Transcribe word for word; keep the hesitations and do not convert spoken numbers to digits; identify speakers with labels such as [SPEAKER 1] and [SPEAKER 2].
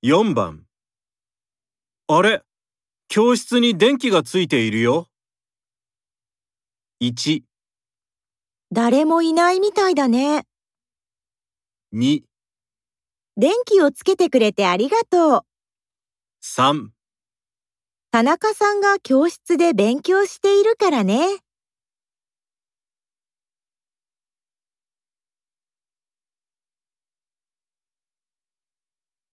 [SPEAKER 1] よんばん。あれ、教室に電気がついているよ。いち、
[SPEAKER 2] 誰もいないみたいだね。
[SPEAKER 1] に、
[SPEAKER 2] 電気をつけてくれてありがとう。
[SPEAKER 1] さん。
[SPEAKER 2] 田中さんが教室で勉強しているからね。